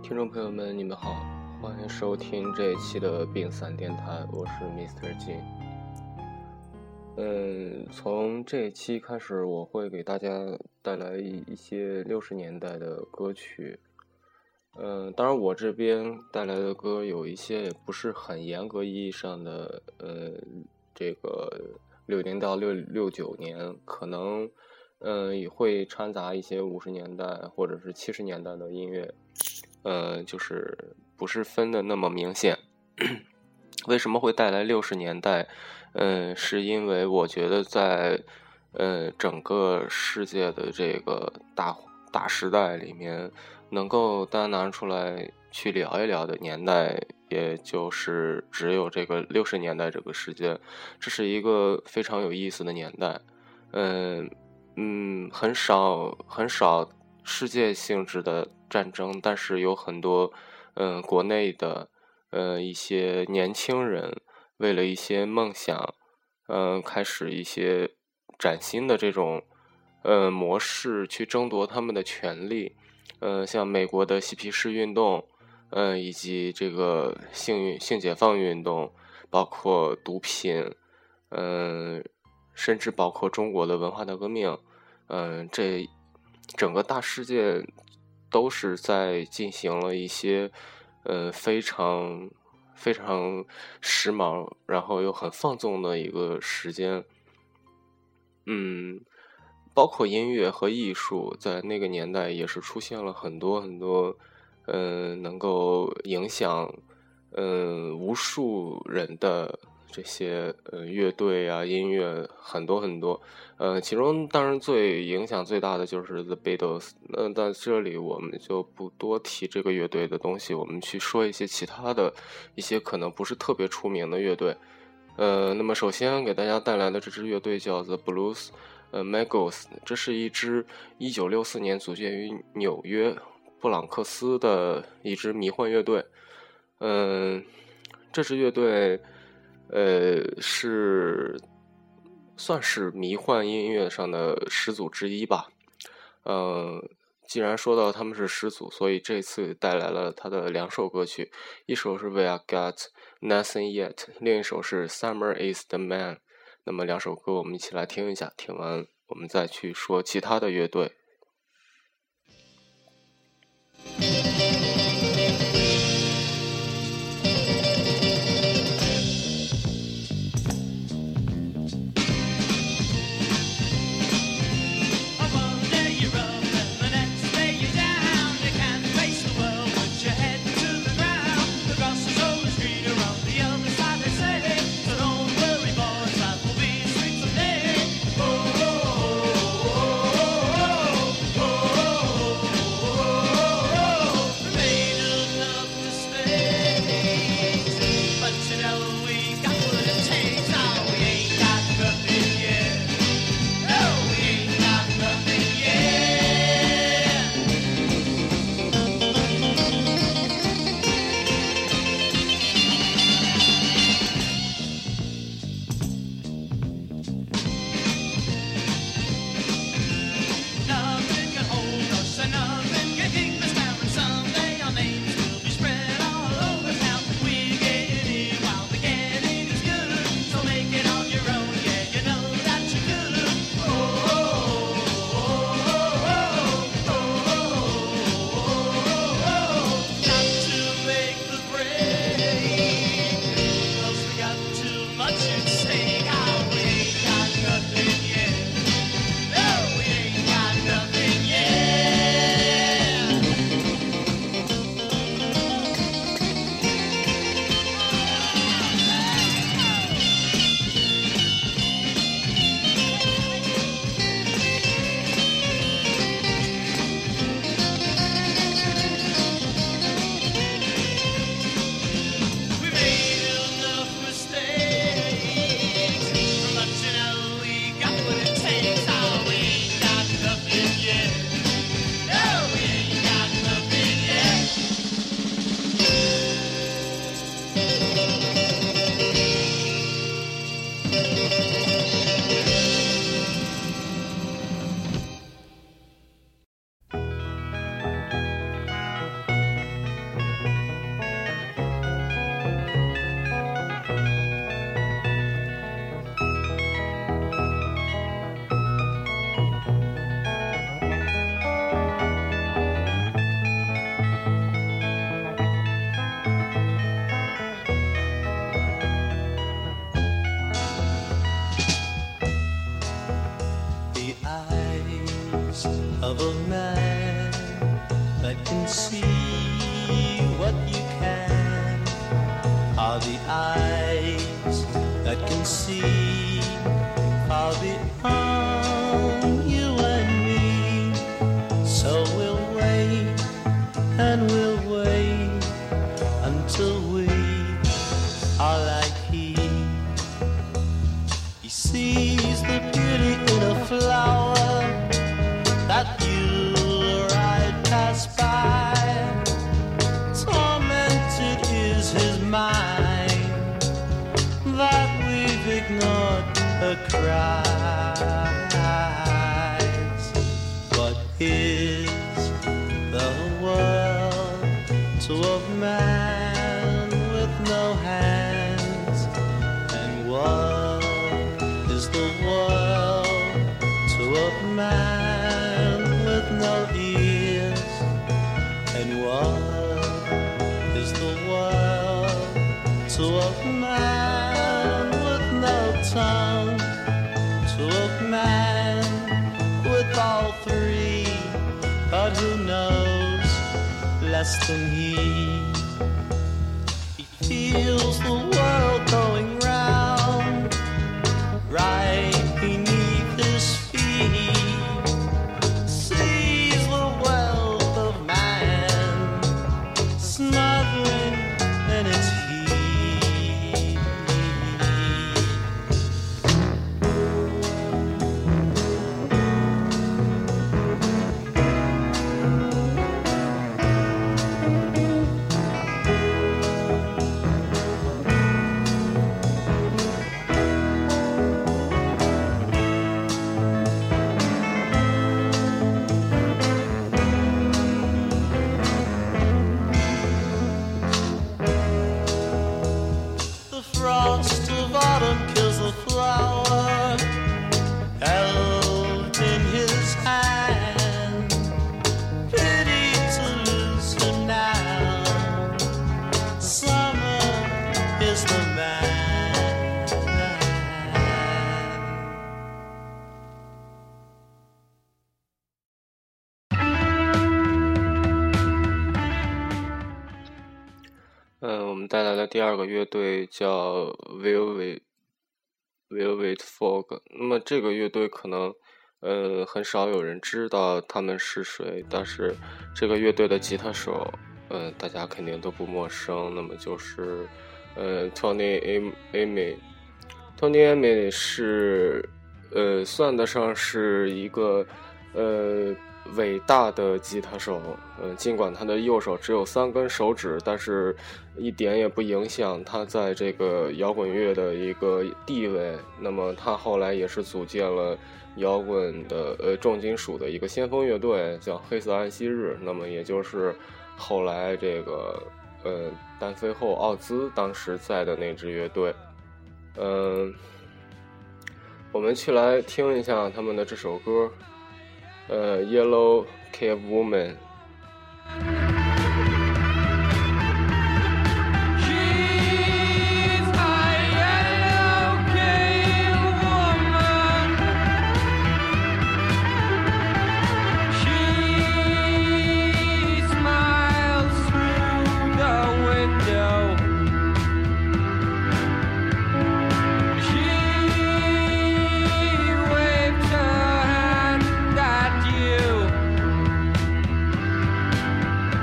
听众朋友们，你们好，欢迎收听这一期的病散电台，我是 Mr. Jin。从这一期开始，我会给大家带来一些60年代的歌曲。当然我这边带来的歌有一些也不是很严格意义上的，这个60年到69年，可能也会掺杂一些50年代或者是70年代的音乐，就是不是分的那么明显。为什么会带来60年代？是因为我觉得在整个世界的这个大时代里面，能够单拿出来去聊一聊的年代，也就是只有这个60年代这个时间。这是一个非常有意思的年代。很少世界性质的战争，但是有很多国内的一些年轻人为了一些梦想，开始一些崭新的这种模式去争夺他们的权利。像美国的嬉皮士运动，以及这个性解放运动，包括毒品，甚至包括中国的文化大革命，这整个大世界都是在进行了一些非常时髦，然后又很放纵的一个时间。包括音乐和艺术在那个年代也是出现了很多能够影响无数人的这些乐队啊，音乐很多。其中当然影响最大的就是 The Beatles。在这里我们就不多提这个乐队的东西，我们去说一些其他的一些可能不是特别出名的乐队。那么首先给大家带来的这支乐队叫 The Blues Moguls， 这是一支1964年组建于纽约布朗克斯的一支迷幻乐队。这支乐队算是迷幻音乐上的始祖之一吧。既然说到他们是始祖，所以这次带来了他的2首歌曲，一首是 We Got Nothing Yet， 另一首是 Summer Is the Man。那么2首歌我们一起来听一下，听完我们再去说其他的乐队。 that can see what you can, are the eyes that can see far beyond you and me. So we'll wait and we'll wait until we are like he. He sees the beauty in a flower that you or I pass by. Tormented is his mind that we've ignored her cries. What is the world to a man with no hands? And what is the world to a man with no ears? And what is the world to a man with no tongue? To a man with all three, but who knows less than he? He feels the world going round right beneath his feet, sees the wealth of man smothering in its heat. The frost of autumn kills the flower held in his hand. Pity to lose her now. Summer is the man. 我们带来的第二个乐队叫 Velvet Fog。那么这个乐队可能很少有人知道他们是谁，但是这个乐队的吉他手大家肯定都不陌生，那么就是Tony Iommi。Tony Iommi 是算得上是一个伟大的吉他手，尽管他的右手只有3根手指，但是一点也不影响他在这个摇滚乐的一个地位。那么他后来也是组建了摇滚的重金属的一个先锋乐队，叫黑色安息日。那么也就是后来这个单飞后奥兹当时在的那支乐队。我们去来听一下他们的这首歌。Yellow Cave Woman。 Waved her hand at you.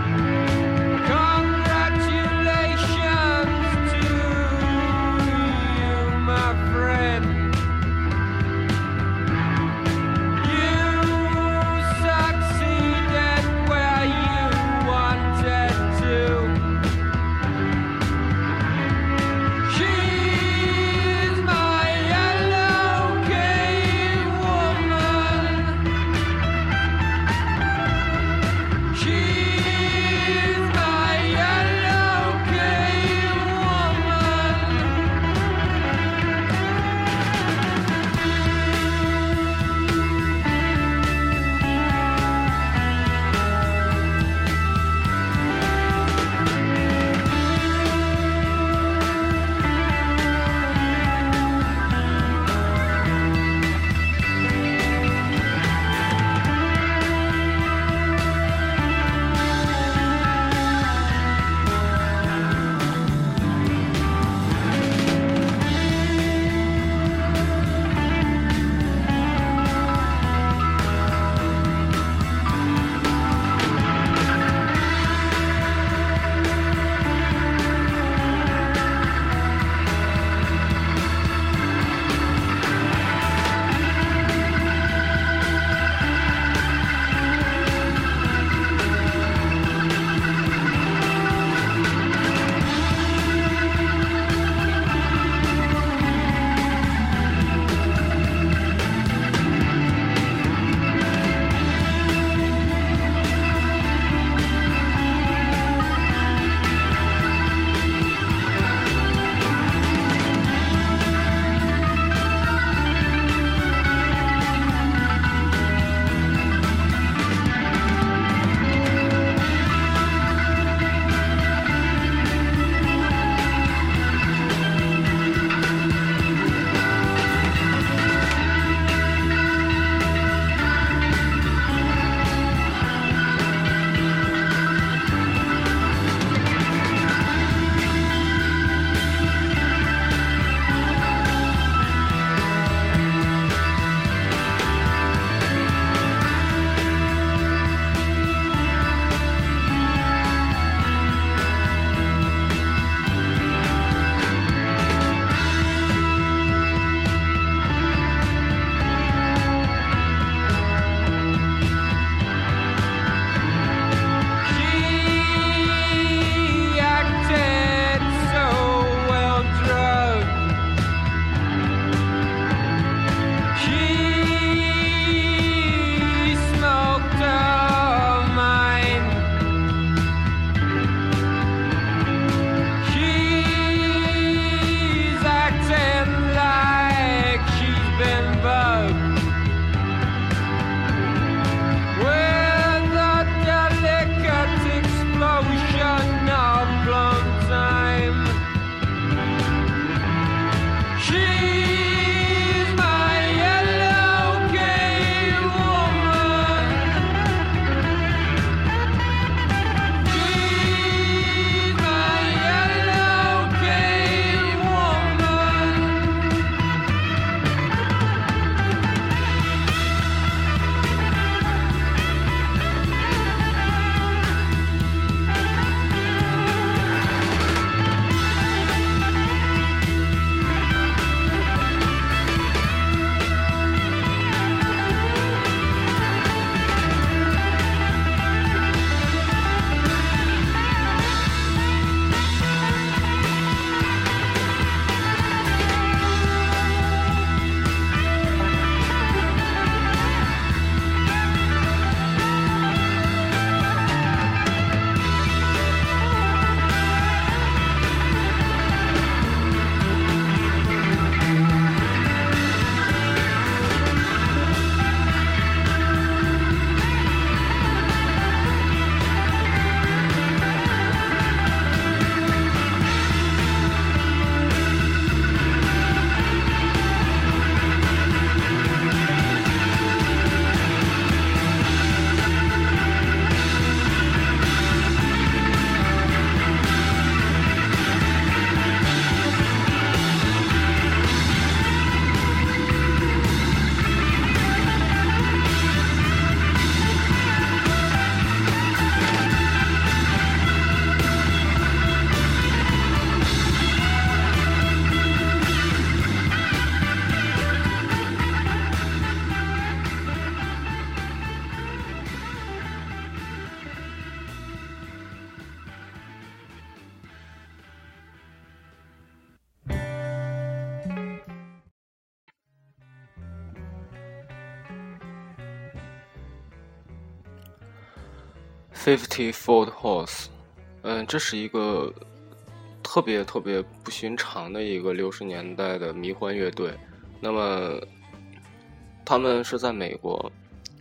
50-Foot Horse， 这是一个特别不寻常的一个60年代的迷幻乐队。那么他们是在美国，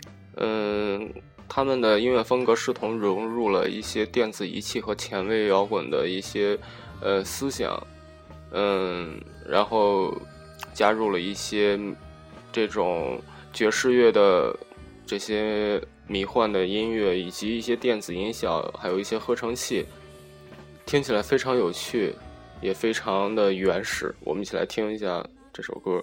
他们的音乐风格视同融入了一些电子仪器和前卫摇滚的一些思想，然后加入了一些这种爵士乐的这些迷幻的音乐，以及一些电子音效，还有一些合成器，听起来非常有趣，也非常的原始。我们一起来听一下这首歌。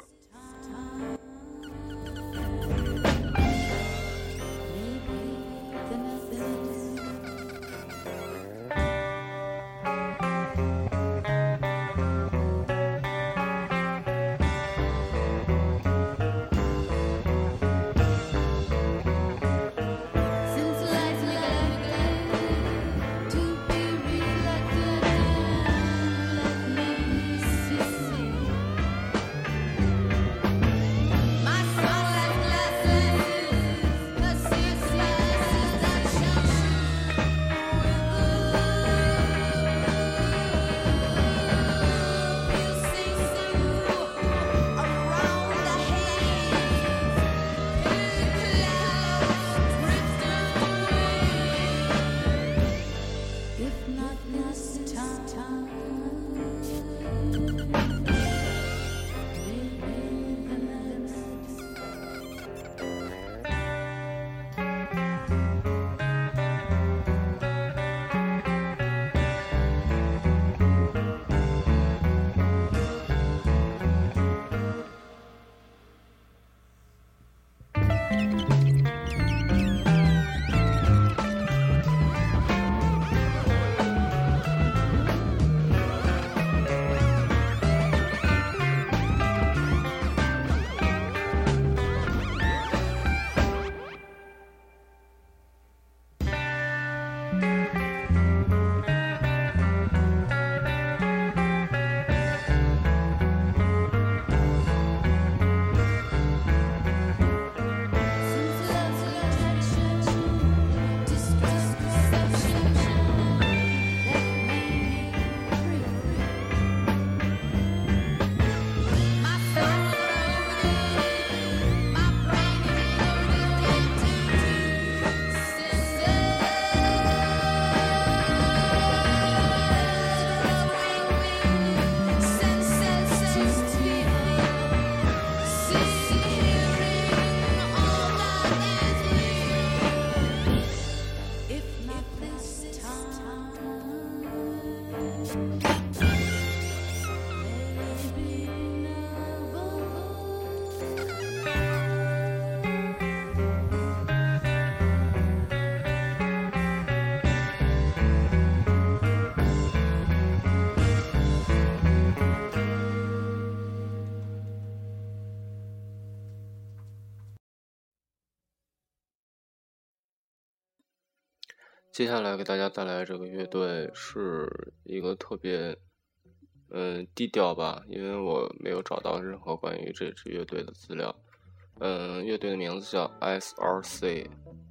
接下来给大家带来这个乐队是一个特别低调吧，因为我没有找到任何关于这支乐队的资料。乐队的名字叫 SRC。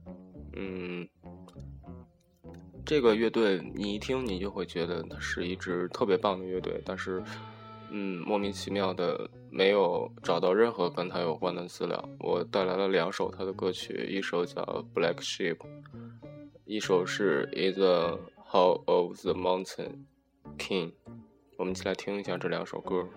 这个乐队你一听你就会觉得它是一支特别棒的乐队，但是莫名其妙的没有找到任何跟它有关的资料。我带来了2首它的歌曲，一首叫 Black Sheep， 一首是 In the Hall of the Mountain King。 我们一起来听一下这2首歌。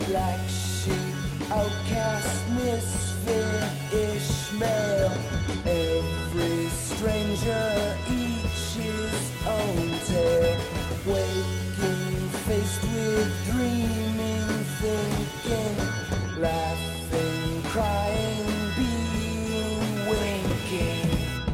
Black sheep, outcast, misfit, Ishmael. Every stranger each his own tale. Waking, faced with dreaming, thinking, laughing, crying, being, winking.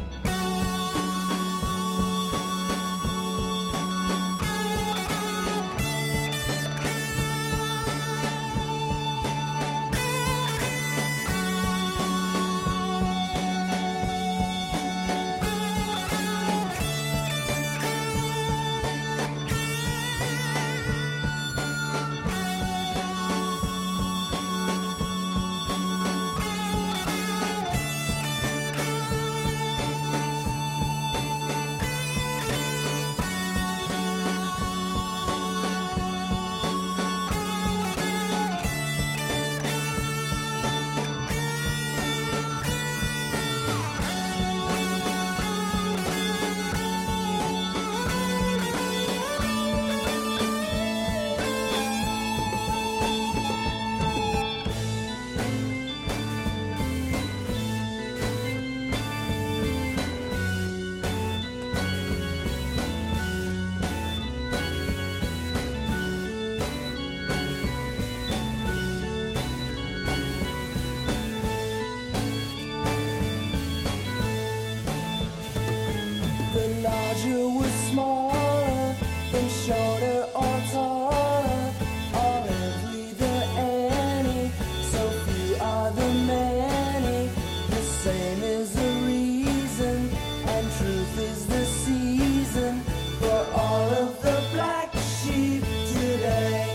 Larger was smaller, and shorter or taller. All every the any, so few are the many. The same is the reason, and truth is the season for all of the black sheep today.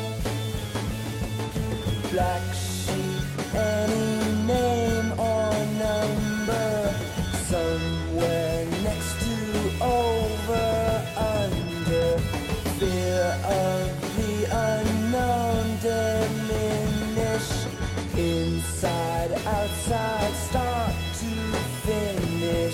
Black sheep, any name or number, somewhere next to over, under, fear of the unknown diminish, inside, outside, start to finish.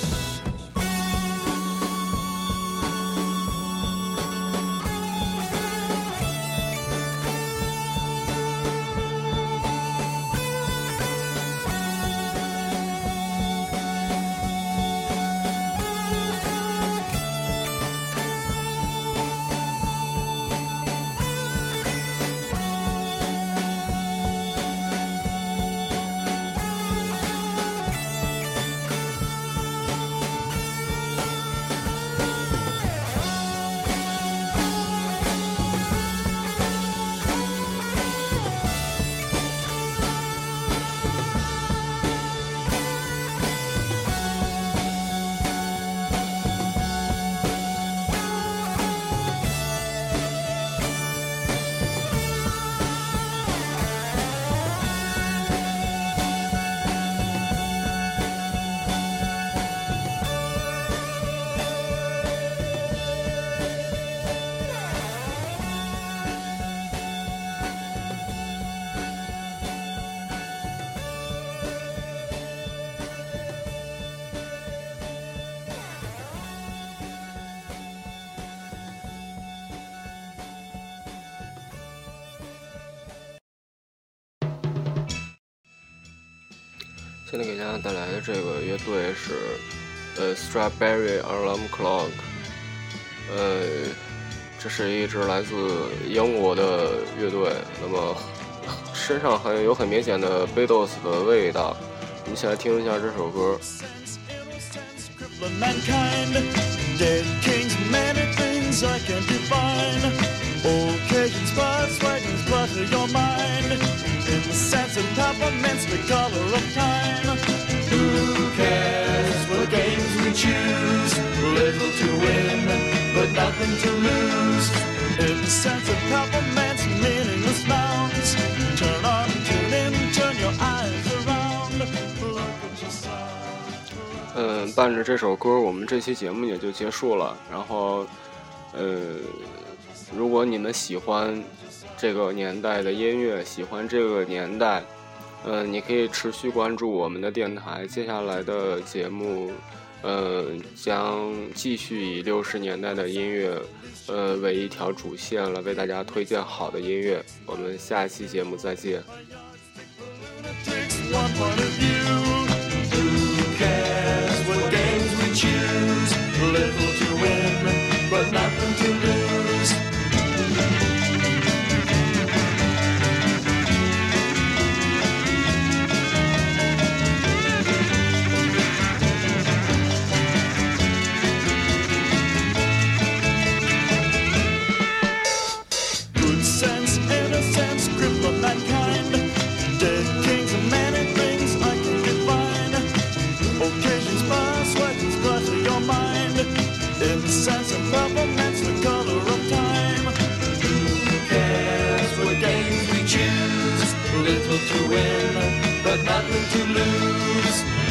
现在给大家带来的这个乐队是Strawberry Alarm Clock， 这是一支来自英国的乐队，那么身上有很明显的 Beatles 的味道。我们一起来听一下这首歌。 Dead kings, many things I can't define. Occasions, birds, wagons, butter your mind. In the sense of peppermints, the color of time. Who cares what games we choose? Little to win, but nothing to lose. In the sense of peppermints, meaningless bounds. Turn on, tune in, turn your eyes around. Look at yourself. 伴着这首歌，我们这期节目也就结束了。然后，如果你们喜欢这个年代的音乐，喜欢这个年代，你可以持续关注我们的电台。接下来的节目， 将继续以60年代的音乐为一条主线了，为大家推荐好的音乐。我们下期节目再见。 One point of view. Who cares what games we choose? Little to win, but nothing to lose. Good sense, innocence, grip of mankind. Dead kings and many things I can define. Occasions pass, legends clutter your mind. Incense and peppermints, the color of time. Who cares what games we choose? Little to win, but nothing to lose.